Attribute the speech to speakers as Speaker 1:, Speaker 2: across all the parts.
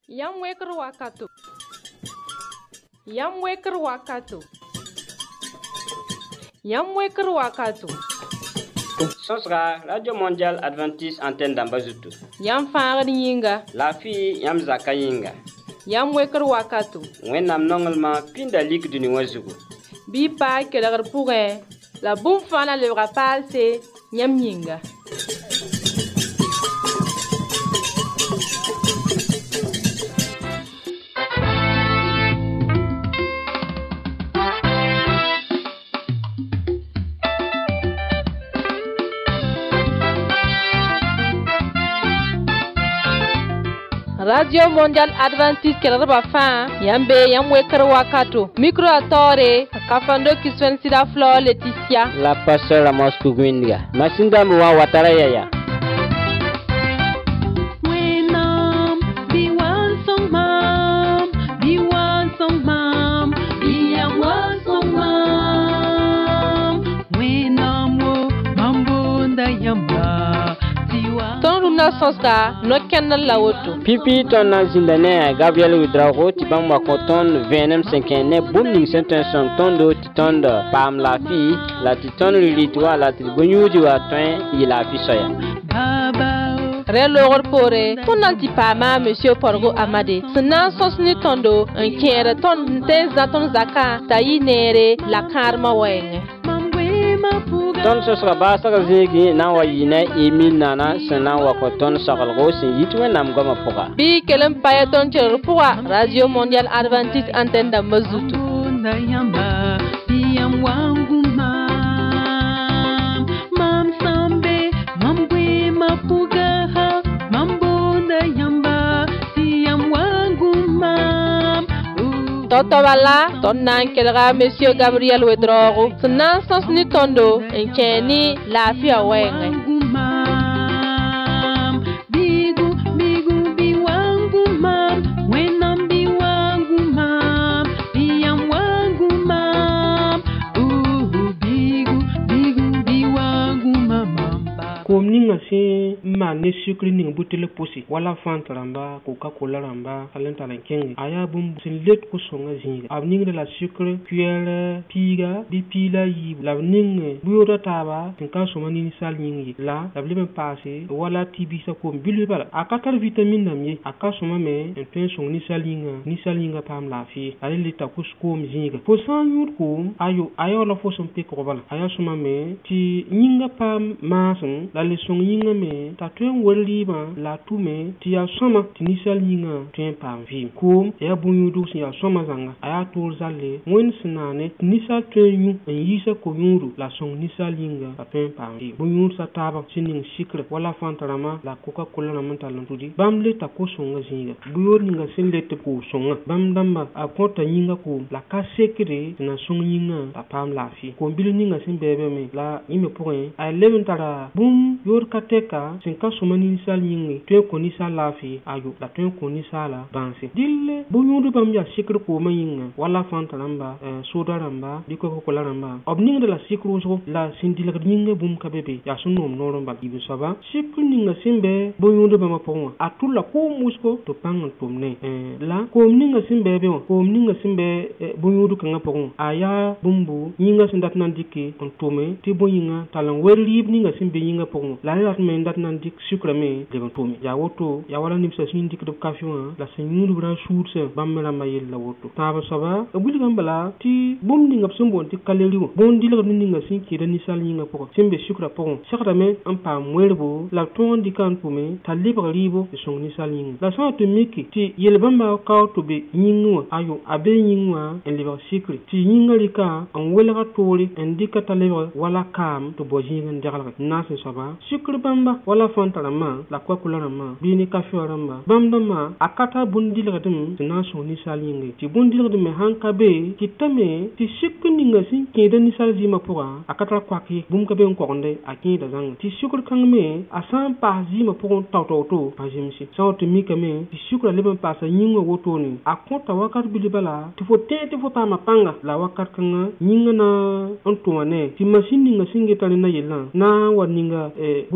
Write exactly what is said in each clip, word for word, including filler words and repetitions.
Speaker 1: Yam weker wakato. Yam weker wakato. Yam weker wakato.
Speaker 2: Sosra Radio Mondial Adventiste Antenne d'Ambazutu.
Speaker 1: Yam faŋa yinga.
Speaker 2: La fi yam zaka yinga.
Speaker 1: Yam weker wakato.
Speaker 2: Wẽnnaam nonglema pĩnda lik dũni wã zugu.
Speaker 1: Bɩ paa kelgr pʋgẽ la bũmb fãa na lebga paalse yãmb yĩnga. Radio Mondial Adventiste kelgba fãa yãmb bee yãmb weker wakato. Micro a taoore kafando kiswen sida Flor Laetitia
Speaker 2: La pasteur Amos Kugwinga. Masinda mwa watara yaya.
Speaker 1: Sosta no kenal la woto
Speaker 2: pipi ton na zindane Gabriel Widrago ti bang makoton venem cinquante bum ning senten son tondo ti tonda pam la fi la ti ton rilitwa la ti gonyuji wa twen yi la fi soya
Speaker 1: Relogor pore ton anti pama monsieur Porgo Amade sna sosni tondo en kere ton teza ton zaka tayi nere la karma wenge
Speaker 2: ton sosra ba saka zegi na wa yina Emile nana sena wa ko ton sakalgo sin yitwe nam goma poka
Speaker 1: bi kelem paye ton cher poa Radio Mondial Adventiste Antenne d'Ambazutu
Speaker 3: na yamba yam wangu mam mam sambe mambwe mapuga ha mambo na yamba yam wangu mam
Speaker 1: Toto wala ton nan kelga monsieur Gabriel Wedrogo sna sens ni tondo en keni la fi awenge
Speaker 3: bigu bigu bi wangu mam wenam bi wangu mam yam wangu mam uh bigu bigu bi wangu mam
Speaker 4: kom ninga se ma ne sukri ninga butele posi wala fanta ramba coca cola ramba alenta la kengi aya bum sin let ko songa zinga ab ninga la sukre cuillère piga bi pila yi la ninga buyoda taba tin ka soma ni sal ningi la la blebe passé wala tibi sa kom bilu bala akatar vitamine namye aka soma me en pen song ni sal ninga ni sal ninga pam la fi ale leta ko kom zinga fo san yur ko ayo ayo la fo som pe ko bala aya soma me ti ninga pam masun la le song yinga me ta tuen weliba la tume ti ya soma ti nisal yinga tuen pam vi kom ya bunyudu si ya soma zanga aya tol zalle wen sinane nisal tuen yu en yisa ko yuru la song nisal yinga ta tuen pam vi bunyur sa taba sinin sikre wala fantarama la coca cola na mental ntudi bam le ta ko songa zinga buyor ninga sin le te ko songa bam damba a kota yinga ko la ka sekre na song yinga ta pam la fi ko bil ninga sin bebe me la yime point a leven tara bum yor kateka sin ka somani sal yingi tuen ko ni sal la fi ayo la tuen ko ni sala banse dille bunyudu bam ya sikre ko ma yinga wala fantaramba soda ramba diko ko la ramba obninga de la sikro so la sin dilga yinga bum ka bebe ya sunnom noron ba ibu saba sikru ninga simbe bunyudu bam ponwa atula ko musko to pangan tomne la ko ninga simbe be ko ninga simbe bunyudu kanga pon aya bumbu yinga sindat nan dikke on tome ti boyinga talan werlib ninga simbe yinga pon la la me ndat nan dik sukra me de bon tome ya woto ya wala nimsa sin dik do kafiwa la senyuru bra shourse bamela mayel la woto taba saba buli gambala ti bum ninga simbo ti kaleliwo bon dilga ninga sin ki da nisal yinga pon simbe sukra pon sakra me am pa mwerbo la ton dikan pume ta libra libo de son nisal yinga la sa to miki ti yelbamba ka to be yinwa ayo abe yinwa en libra sikri ti yinga lika an welga tori en dikata libra wala kam to bojinga ndagalga nase saba sikri bamba wala fantarama la kwa kularama bini kafioramba bamdama akata bundilga dum na son nisal yinga ti bundilga dum hanka be ti tame ti sikri ninga sin ke da nisal zima pora akata kwaki bum ka be on konde akida zang ti sikri kangme asan pa zima pon tawto to pa jimsi sa to mi kame ti sikra leben pasa nyinga woto ni akonta wakat bilibala ti fo tete fo pa mapanga la wakat kanga nyinga na on to wane ti machine ninga singe tani na yela na waninga e bonte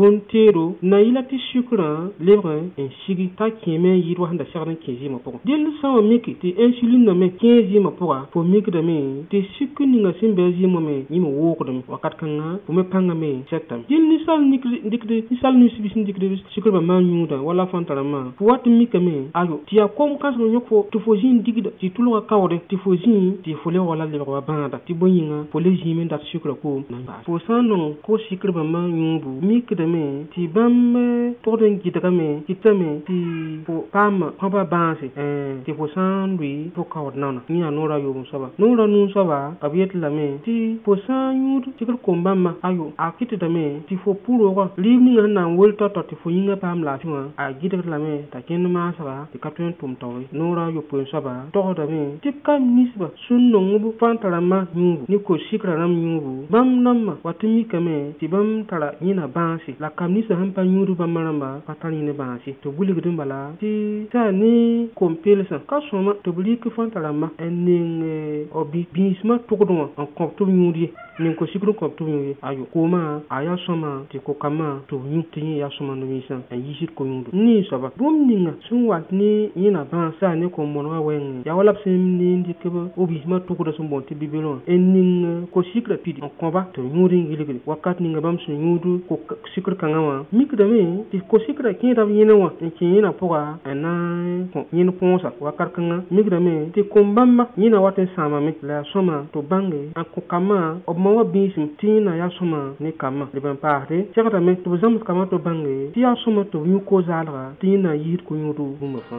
Speaker 4: peero na yila tɩ sucrã lebg n sigi t'a kẽeme yɩɩd wa sẽn da segd n kẽ zɩɩmã pʋgẽ dell sã n wa mike tɩ insuline me kẽ zɩɩmã pʋga fo mikdame tɩ sucr ninga sẽn be a zɩɩmã me yĩme woogdame wakat kãngã fo me pãngame sɛtame dẽl ninsal dɩkd ninsal ninsbi sẽn dɩkd sucrbã maan yũuda wala fãn tarãmbã fo wat n mikame ayo tɩ yaa kom kãsg yõk fo tɩ fo zĩig digda tɩ tʋlga kaoode tɩ fo zĩ tɩ fo le wala lebg wa bãada tɩ bõe yĩnga fo le zĩime n dat sucrã koom nan baas fo sã n nong ko sucrbã maan yũubu mikdame tɩ bãmb togd n gɩdgame kɩtame tɩ fo paam kõba bãase tɩ fo sã n lʋɩ fo kaood naona yẽ yaa noorã yoom soaba noorã nuu soaba b yet lame tɩ fo sã n yũud tɩgd kom bãmba ayo a kɩtdame tɩ fo pʋ-roogã liib ninga sẽn na n wel tao-tao tɩ fo yĩngã paam laafɩ wã a gɩdgd lame t'a kẽnd maasga tɩ ka tõe n tʋm taoore noorã yopoen soaba togdame tɩ b ka ninsba sũn nongb fãa tara rãmbã yũubu ne ko sikrã rãmb yũubu bãmb nambã wat n mikame tɩ bãmb tara yẽna bãase la kam ninsã sẽn pa yũud bãmbã rãmba pa tar yẽne bãase tɩ b wilgd n bala tɩ taa ne kom-pelsã ka sõma tɩ b rɩk fãa tara rãmbã n ning b bĩismã tʋgd wã n kõb tɩ b yũud ye ning ko sikr n kõb tɩ b yũud ye ayo koomã a yaa sõma tɩ ko-kambã tɩ b yũ tɩ yẽ yaa sõma no-wiisã n yiisd ko-yũudu nii soaba bũmb ninga sẽn wat ne yẽna bãas saa ne kom-monegã wɛɛngẽ yaa wala b sẽn ne n dɩk b biismã tʋgda sẽn boond tɩ bibel wã n ning ko-sikrã pid n kõba tɩ b yũud n yɩlgde wakat ninga bãmb sẽn yũud ko-sikr kãngã wã mikdame tɩ ko-sikrã kẽeda b yẽnẽ wã n kẽ yẽnã pʋga n na n kõ yẽn põosa wakat kãngã mikdame tɩ kom-bãmbã yẽna wat n sãamame la yaa sõma tɩ b bãnge n kõ-kambã b ma wã bĩism tɩ yẽna yaa sõma ne kambã leb n paasde segdame tɩ b zãms kambã tɩ b bãnge tɩ yaa sõma tɩ b yũ ko-zaalga tɩ yẽ na n yiisd ko-yũudu bũmba fãa.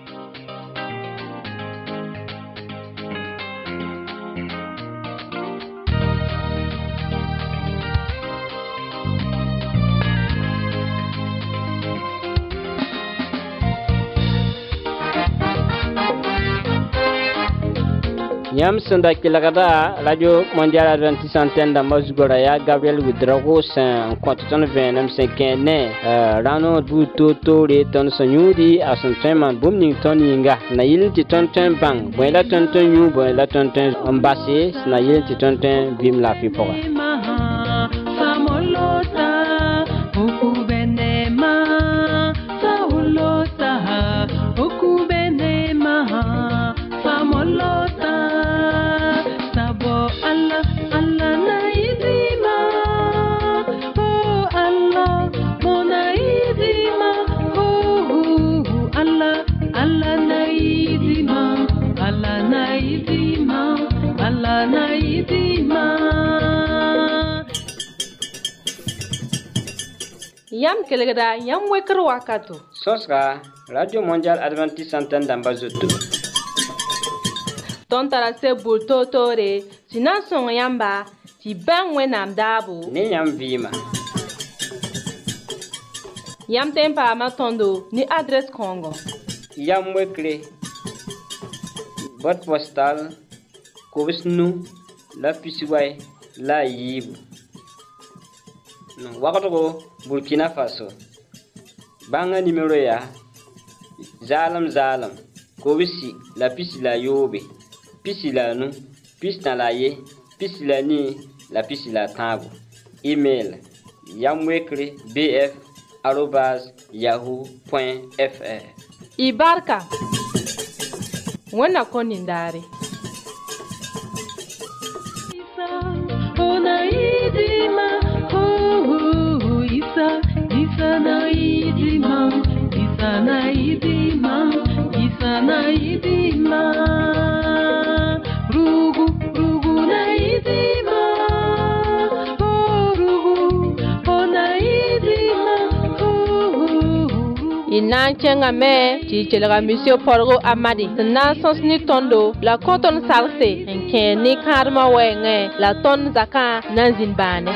Speaker 2: Yam sẽn kelgda radio mondial adventiste antenne dãmbã zugã yaa Gabriel Widrago sẽn kõ tɩ tõnd vẽenem sẽn kẽ ne rãno buud toor-toore tõnd sẽn yũudi a sẽn tõe n maan bũmb ning tõnd yĩnga na yɩl tɩ tõnd tõe n bãng bõe la tõnd tõe n yũ bõe la tõnd tõe n base sẽn na yɩl tɩ tõnd tõe n vɩɩm laafɩ pʋga.
Speaker 1: Yam kelgda yam wekr wakato.
Speaker 2: Sõsga radio mondial adventiste antenne dãmbã zoto.
Speaker 1: Tõnd tara seb bur toor-toore tɩ na n sõng yãmba tɩ bãng wẽnnaam daabo
Speaker 2: ne yãmb vɩɩma.
Speaker 1: Yãmb tõe n paama tõndo ne adrɛs kõongo.
Speaker 2: Yam wekre boîte postale kobs nu la pisiway la a yiibu wagdgo Burkina Faso. Bãngã nimero yaa zaalem zaalem kobsi la pisi la yoobe pisi la nu pisi tã la ye pisi la nii la pisi la tãago. Email yamwekre bf arobas yahoo point fr.
Speaker 1: Y barka wẽnna kõ nindaare. Il na n kẽngame tɩ y kelga monsieur Porgo Amadi sẽn na n sõs ne tõndo la kõ tõnd salse n kẽ ne kãadmã wɛɛngẽ la tõnd zakã na n zĩnd bãane.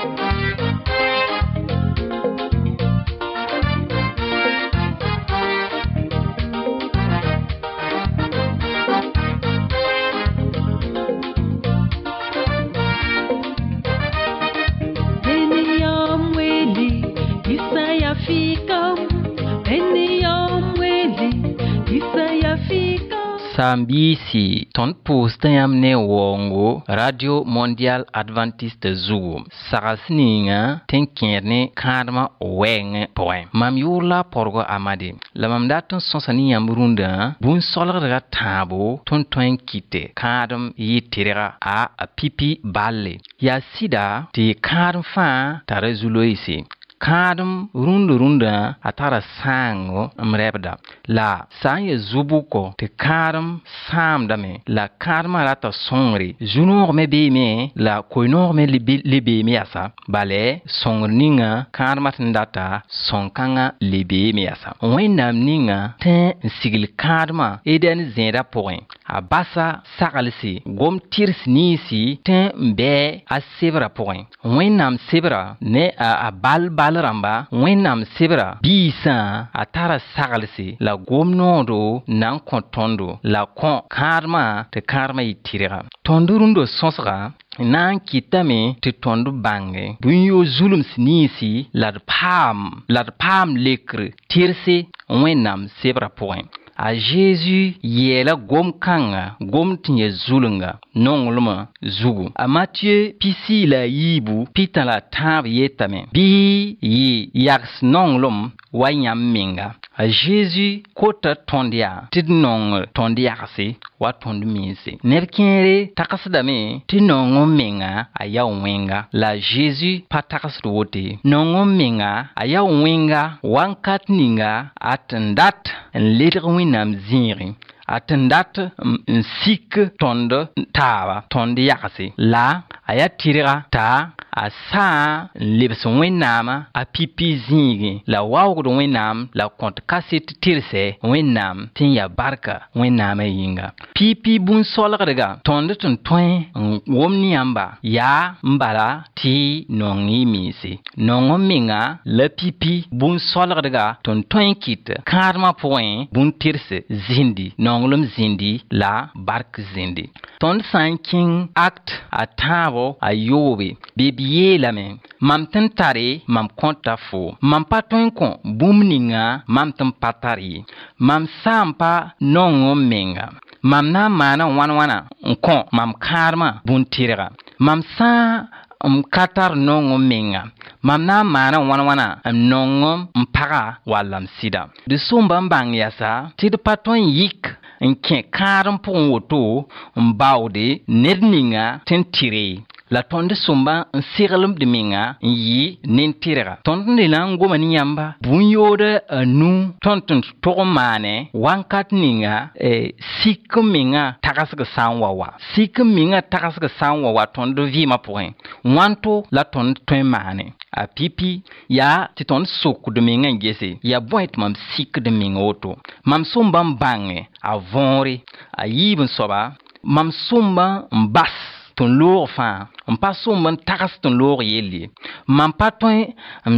Speaker 5: Sambisi ton postam ne wongo Radio Mondial Adventiste Zugo Sarasninga tenkerne kadma weng poem mam yula porgo amade la mam datun sonsani yamrunda bun solra tabo ton ton kite kadam yitirega a pipi balle ya sida ti kadam fa tare zuloisi kadam runda runda atara sango mrebda la sanye zubuko te kadam samdame la kadma rata songri junor me be me la koinor me libe me asa bale songninga kadma tndata sonkanga libe me asa wenam ninga te sigil kadma eden zenda point abasa sagalsi gom tirs nisi te mbe a sebra point wenam sebra ne a bal bal ramba wenam sebra bisa atara sagalsi la gomnodo nan kontondo la kon karma te karma itira tondurundo sonsra nan kitame te tondu bange bunyo zulum snisi la pam la pam lekre tirse wenam sebra point a Jésus yela gom kanga gom tinye zulunga nongluma zugu a Matthieu pisi la yibu pita la tab yetame bi yi yaks nonglum wanyam minga a Jésus kota tondia tid nong tondia se wa tondu minse nerkere takasdame ti nongo minga aya wenga la Jésus patakasdu wote nongo minga aya wenga wankat ninga atendat en leder winam ziri atendat n sik tonde tawa tonde yakase la aya tirira ta a sa lebs wẽnnaamã a pipi zĩige la waoogd wẽnnaam la kõt kaset tirse wẽnnaam tɩ n yaa barka wẽnnaamã yĩnga pipi bũn-solgdga tõnd tɩ n tõe n wʋm ne yãmba yaa n bala tɩ nong y miise nong n menga la pipi bũn-solgdga tɩ n tõe n kɩt kãadmã pʋgẽ bũn-tirse zĩndi nonglem zĩndi la bark zĩndi tõnd sã n kẽng act a tãabo a yoobe bɩ b yeelame mam tɩ n tare mam kõta fo mam pa tõe n kõ bũmb ninga mam tɩ n pa tar ye mam sã n pa nong n menga mam na n maana wãn-wãna n kõ mam kãadmã bũn-tɩrga mam sã n ka tar nong n menga mam na n maana wãn-wãna n nong n paga wall m sɩda d sõmba n bãng yasa tɩ d pa tõe n yik n kẽ kãad n pʋgẽ woto n baoode ned ninga tɩ n tɩre la tõnd sõmba n seglem d menga n yɩ nin-tɩrga tõnd ne la n goma ne yãmba bũn-yoodã a nu tõnd tɩ n tog n maane wãnkat ninga sik n menga tagsg sã n wa wa sik n menga tagsg sã n wa wa tõnd vɩɩmã pʋgẽ wãnto la tõnd tõe n maane a pipi yaa tɩ tõnd sokd menga n gese yaa bõe tɩ mam sikd menga woto mam sõmba n bãnge a võore a yiib n soaba mam sõmba n bas tɩ n loog fãa n pa sõmb n tags tɩ n loog yelle mam pa tõe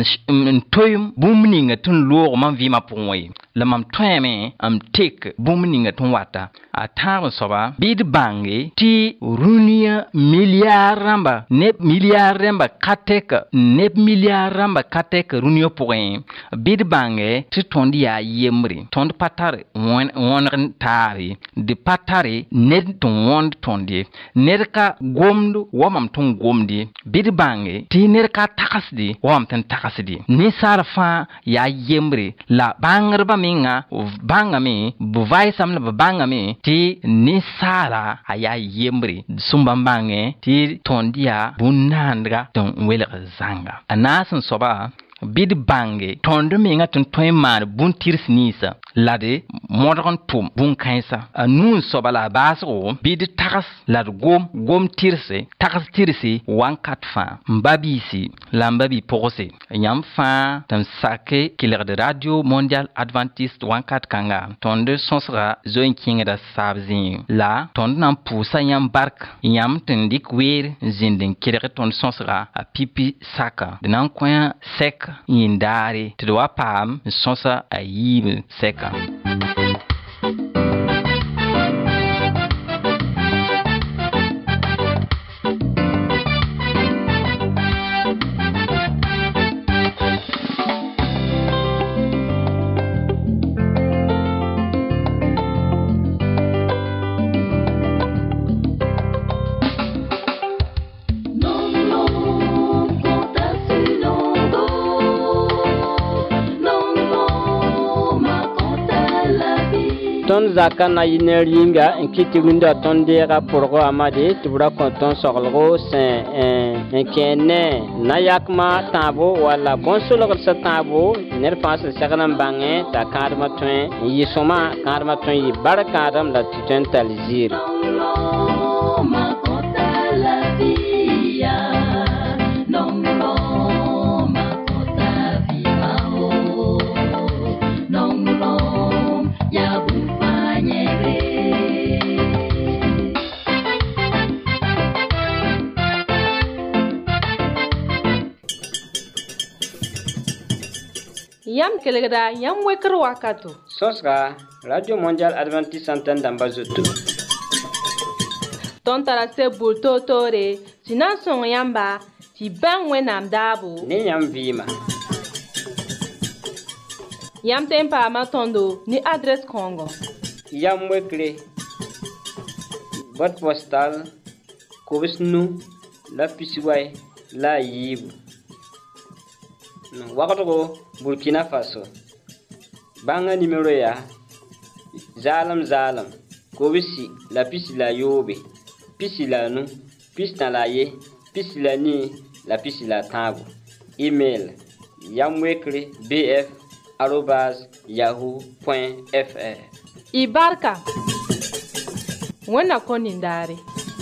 Speaker 5: n toem bũmb ninga tɩ n loog mam vɩɩmã pʋgẽ ye la mam tõeme n tek bũmb ninga tɩ n wata a tãag n soaba bɩ d bãnge tɩ rũniyã miliyaar rãmba neb miliyaar rãmba ka tɛk neb miliyaar rãmba ka tɛk rũniyã pʋgẽ bɩ d bãnge tɩ tõnd yaa yembre tõnd pa tar wõneg taare d pa tare ned tɩ wõnd tõnd ye ned ka gomd wa mam tɩ n gomde bɩ d bãnge tɩ ned ka tagsde wa mam tɩ n tagsde ninsaal fãa yaa yembre la bãngrbã menga bãngame b vaɩsame la b bãngame tɩ ninsaala a yaa yembre sõmba n bãnge tɩ tõnd yaa bũn-naandga tɩ n welg zãnga a naas n soaba bɩ d bãnge tõnd menga tɩ n tõe n maan bũn-tɩrs ninsã la d modg n tʋm bũn-kãensa a nu n soaba la a baasgo bɩ d tags la d gom gom tɩrse tags tɩrse wãnkat fãa n ba biisi la n ba bi-pʋgse yãmb fãa tɩ n sake kelgd radio mondial adventiste wãnkat kãnga tõnd sõsga zoe n kẽngda saab zĩig la tõnd na n pʋʋsa yãmb bark yãmb tɩ n dɩk weer n zĩnd n kelg tõnd sõsga a pipi saka d na n kõ sɛk yĩndaare tɩ d wa paam n sõsa a yiib sɛka
Speaker 2: ton zakana yiner yinga nkiti winda ton dera porgo amade tubra konton sorgo sen en kene nayakma tabo wala bonsolo sa tabo ner pas saganan bange ta karma twen yisoma karma twen yi barakadam la tuten talizir
Speaker 1: Yam kelegda yam wekr wakato.
Speaker 2: Sosra Radio Mondial Adventiste Antenne d'Ambazoto.
Speaker 1: Ton tarase bulto tore, sinan son yamba, ti ban wenam dabo.
Speaker 2: Ni yam vima.
Speaker 1: Yam tempa matondo ni adresse Congo.
Speaker 2: Yam wekre. Boîte postale Kobisnu la Pisiway la Yib. Wakato Burkina Faso. Banga numéro ya Zalam Zalam Kobisi la pisi la Yobe Pisi la nu Pisi na la ye Pisi la ni la pisi la tango. Email yamwekre bf arobase yahoo point fr.
Speaker 1: Ibarka Wena konindare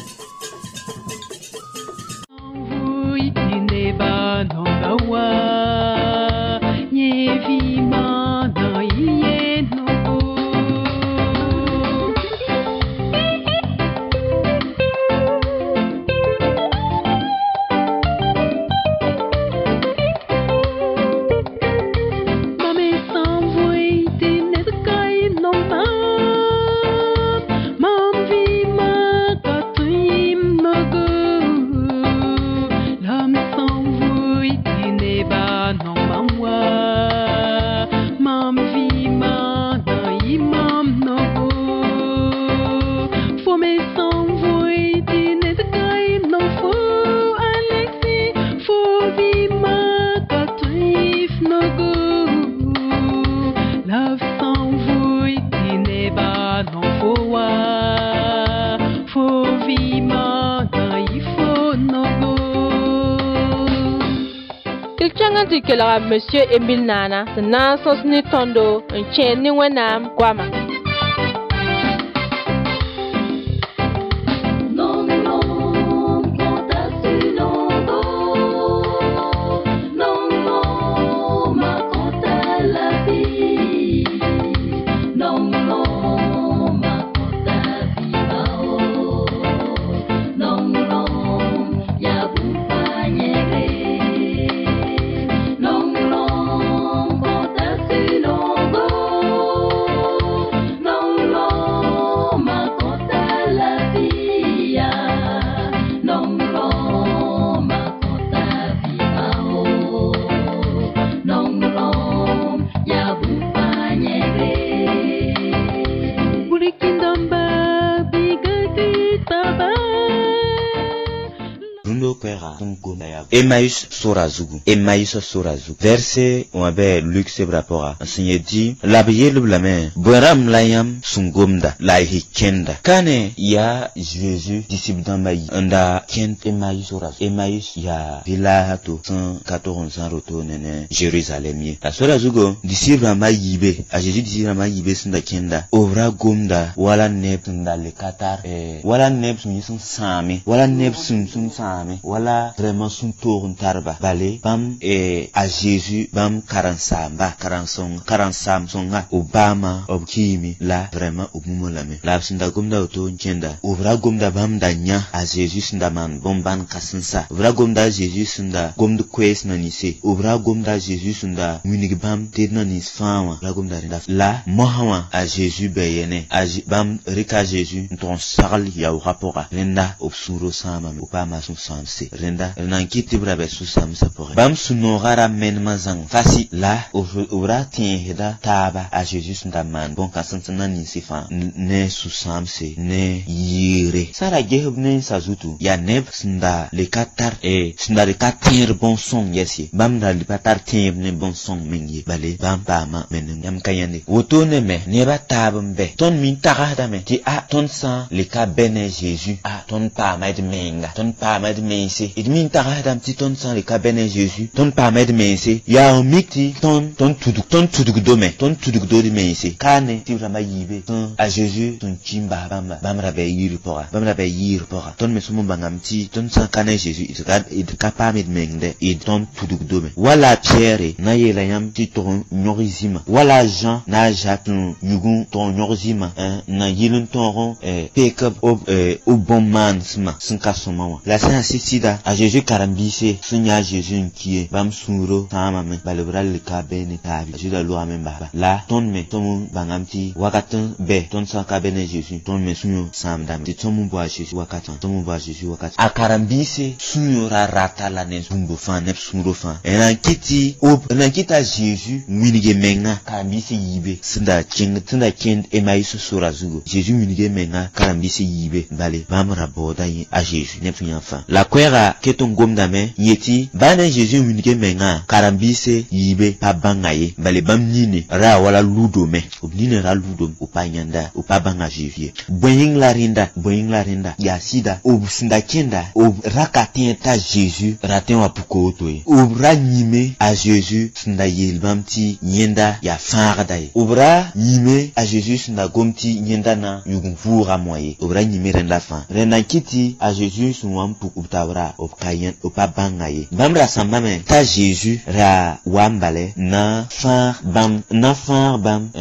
Speaker 3: Ineba nongawa Yevima na yeno Mame s'envoie des netkai non ma Mam vima katuim nogo Lam s'envoie des neba non mamwa Mam vima na imam nogo Faut me s'envoie des netkai non fo Alexi Faut vima katuif nogo Love s'envoie des neba non fo wa Faut vima na ifo nogo
Speaker 1: Il tient dit que la monsieur Emile Nana, c'est Nansos ni Tondo, un chien ni wenam, Guama.
Speaker 6: Emmaüs Sorazugu, Emmaüs Sorazugu. Verset on avait Luc Sebrapora. Enseigné dit, l'habillé le blâme, Boram layam sungomda, la hikenda. Kane ya Jésus, disciple d'Ambaï, anda kent Emmaüs Sorazugu. Emmaüs ya vilahato, cent quatorze ans retourné Jérusalem. La Sorazugu, disciple d'Ambaï yibe, a Jésus disciple d'Ambaï yibe sunda kenda, ovra gomda, wala neb sunda le katar, eh, wala neb sun sun same, wala neb sun sun same, wala vraiment sun tourne tarba balé bam et à Jésus bam karansamba karansong karansam songa Obama obkimi la vraiment obumolame la sinda gomda auto nchenda ovra gomda bam danya à Jésus sinda man bomban kasansa ovra gomda Jésus sinda gomdu quest nanise ovra gomda Jésus sinda munig bam tedna nis fama la gomda renda la mohawa à Jésus beyene à bam rika Jésus ton sarl ya rapora renda obsuro sama Obama son samse se renda nan kiti brabe su sam sapore bam sunora men mazang fasi la ora tien heda taba a Jesus ndaman bon kasantana ni sifa ne su sam se ne yire sara gehub ne sazutu ya neb snda le katar e snda le katir bon son yesi bam da le katar tien ne bon son mengi bale bam ba ma men yam kayane woto ne me ne ba tabam be ton min taga da me ti a ton san le ka bene Jesus a ton pa ma de menga ton pa ma de mense it min taga da ti ton san le ka bene Jesus ton pa ma de mense ya mikti ton ton tuduk ton tuduk do me ton tuduk do de mense kane ti rama yibe ton a Jesus ton chimba bamba bam ra be yir pora bam ra be yir pora ton me sumu bangam ti ton san kane Jesus it ka it ka pa me de mengde it ton tuduk do me wala Pierre na yela yam ti ton nyorizima wala Jean na jatun yugun ton nyorizima na yilun ton eh pick-up au au bon man sma sinka somawa la sa sida a Jésus karambise sunya Jésus qui est bam suro tama me balebral ka bene ka Jésus da lo amen baba la ton me ton bangamti wakatan be ton sa ka bene Jésus ton me sunyo samdam ti ton bo Jésus wakatan ton bo Jésus wakatan a karambise sunyo ra rata la ne zumbo fan ne suro fan ena kiti o na kita Jésus winige menga karambise yibe sinda king tinda king e mai sura zugo Jésus winige menga karambise yibe bale bamra boda yi a Jésus ne funya fa la kwera keton gomdame yeti bana Jésus winige menga karambise yibe pa bangaye bale bamnine ra wala ludo me obnine ra ludo upanyanda upabanga Jésus boying la rinda boying la rinda ya sida obsinda kenda ob rakatienta Jésus raten wa puko toy obra nyime a Jésus sinda yelbamti nyenda ya farda obra nyime a Jésus sinda gomti nyenda na yugun vura moye obra nyime renda fa renda kiti a Jésus sunwam puku tawra opkayen opabangaye bamra sambame ta Jésus ra wambale na far bam na far bam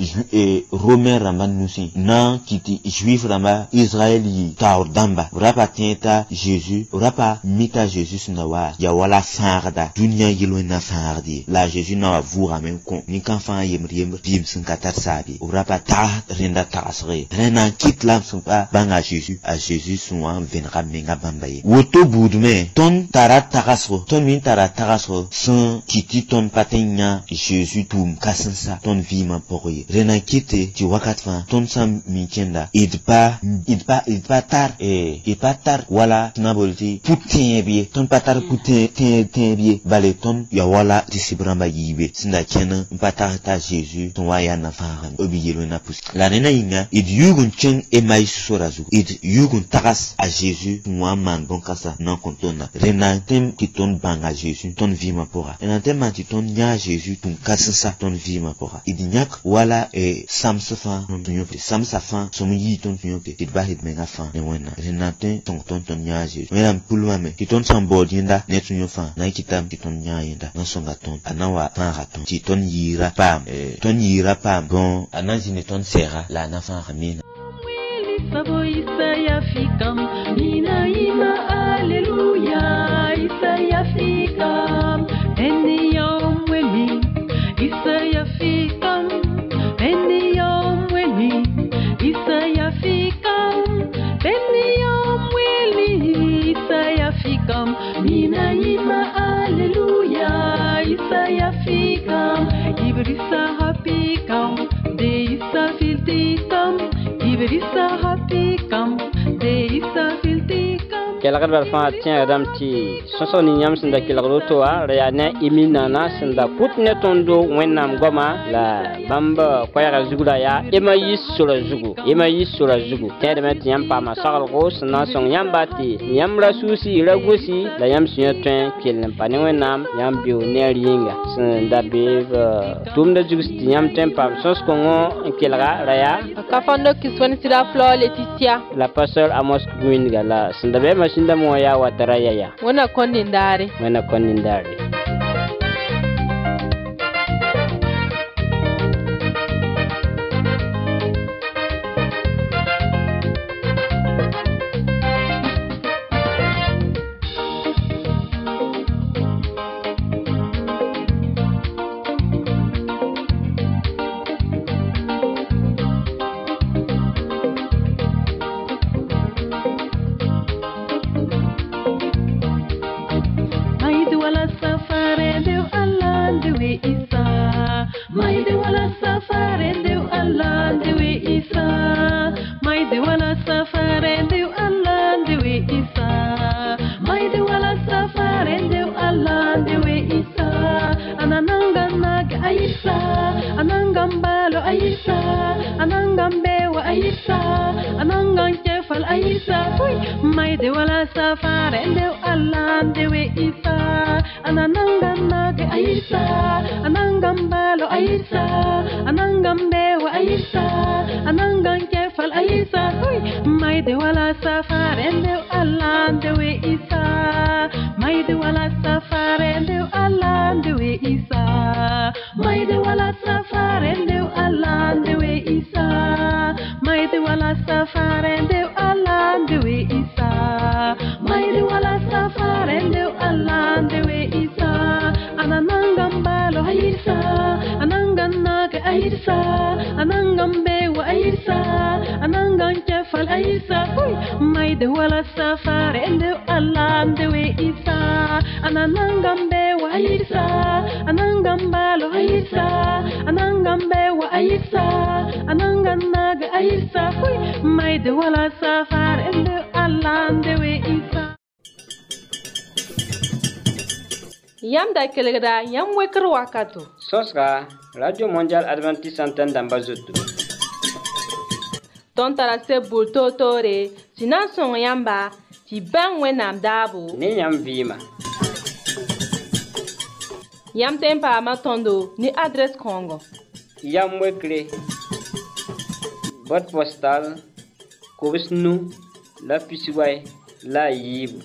Speaker 6: e romain ramba nusi na kiti juif ramba israeli taur damba rapa tienta Jésus rapa mita Jésus na wa ya wala farda dunya yelo na fardi la Jésus na vura men kon ni kan fa yemri yemri bim sun katar sabi rapa ta renda tasre rena kit lam sun pa banga Jésus a Jésus sunwa venra menga bambaye woto budme ton tarat takasro ton min tarat takasro sans kiti ton patenya Jésus tum kasansa ton vima poroye rena kite ti wakatfa ton sam minkenda idpa idpa idpa tar e idpa tar wala nabolti putin bi ton patar putin tin tin bi bale ton ya wala ti sibramba yibe sinda kena patar ta Jésus ton waya na fara obiyelo na pus la rena inga id yugun chen e mai sorazu id yugun takas a Jésus moi man bon kasa non kontona rena tem ki ton banga Jésus ton vima pora rena tem ti ton nya Jésus ton kasansa ton vima pora id nyak wala e samsafa non tunyope samsafa somu yi ton tunyope id bahid menga fa ne wena rena tem ton ton ton nya Jésus mena pulwa me ki ton sambo dinda ne tunyofa na kitam ki ton nya yenda na songa ton anawa fa raton ti ton yira pam e ton yira pam bon ananzi ne ton sera la na fa ramina
Speaker 3: Sabo Isaya fikam, mina ima aleluya. Isaya fikam, eni yom weni. Isaya fikam, eni yom weni. Isaya fikam, eni yom weni. Isaya fikam, mina ima aleluya. Isaya fikam, ibrisa hapikam, de isa filtikam. Ibrisa hapikam, de isa filtikam.
Speaker 2: kelgd bar fãa tẽegdame tɩ sõsg nin-yãmb sẽn da kelgd woto wa ra yaa ne y min-naana sẽn da pʋt ne tõndo wẽnnaam goamã la bãmb koɛɛgã zugda yaa emayis sora zugu emayis sora zugu tẽedame tɩ yãmb paama saglgo sẽn na n sõng yãmba tɩ yãmb ra suusi ra gosi la yãmb sẽn yã tõe n kell n pa ne wẽnnaam yãmb beo neer yĩnga sẽn da beeb tʋʋmda zugs tɩ yãmb tõe n paam sõs-kõngo n kelga ra yaa
Speaker 1: ka fãndo kɩs fõn sɩda Flor Laetitia
Speaker 2: la pasteur Amos Gwinga la sẽn da bee masinda mo yaa watara yaya
Speaker 1: wẽna kõ nindaare
Speaker 2: wẽna kõ nindaare
Speaker 3: safari de Allah de we isa. Mai de wala safari de Allah de we isa. Mai de wala safari de Allah de we isa. Anananga naga aisa. Anangambalo aisa. Anangambewa aisa. Anangang kefal aisa. Mai de wala safari de Allah de we isa. Anananga naga aisa. Anangambalo aisa. Anangambewa aisa. Anangang kefal aisa. Mai de wala safari de Allah de we isa. Mai de wala safari de Allah de we isa. Mai de wala safari de Allah de we isa. Mai de wala safari de Allah de we isa. Mai de wala safari de Allah de we isa. Ananangambalo aisa. Ananganaga aisa. Anangambewa aisa. Anangang kefal aisa. Mai de wala safari de Allah de we isa. Anangambewa aisa. Anangambalo aisa. Anangambewa aisa. Ananganaga aisa. Mai de wala safari de Allah de we isa.
Speaker 1: Yam da kelgda yam wekr wakato.
Speaker 2: Sosra Radio Mondial Adventiste Antenne d'Ambazoto.
Speaker 1: Ton tarase bulto tore sinan son yamba ti ban wenam dabu.
Speaker 2: Ni yam vima.
Speaker 1: Yam tempa matondo ni adresse Congo.
Speaker 2: Yam wekre. Boîte postale Kobisnu la Pisiway la Yibu.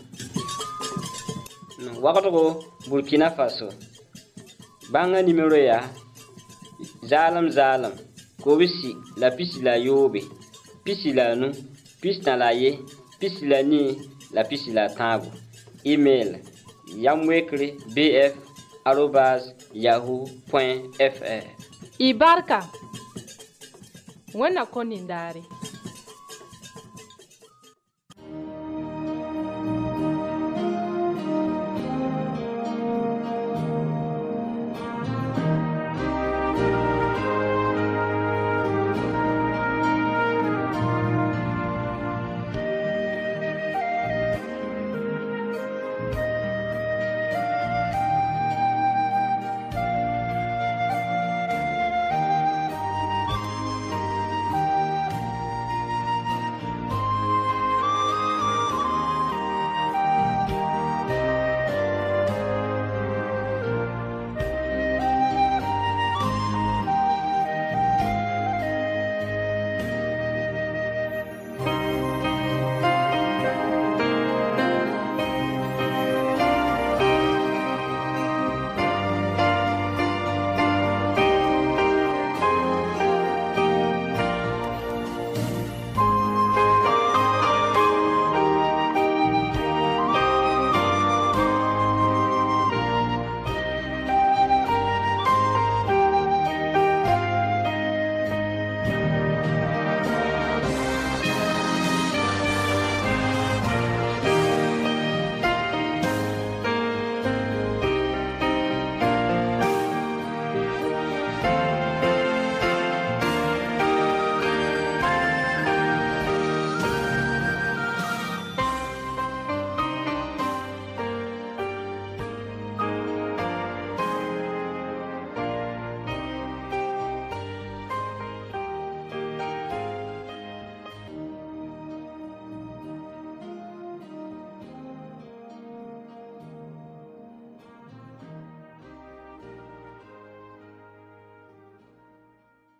Speaker 2: Wakato Burkina Faso. Banga numéro ya Zalam Zalam Kobisi la Pisi la Yobe. Pisi la nu, pisi na la ye, pisi la ni, la pisi la tango. Email yamwekre bf arobase yahoo point fr.
Speaker 1: Ibarka. Wena konindari.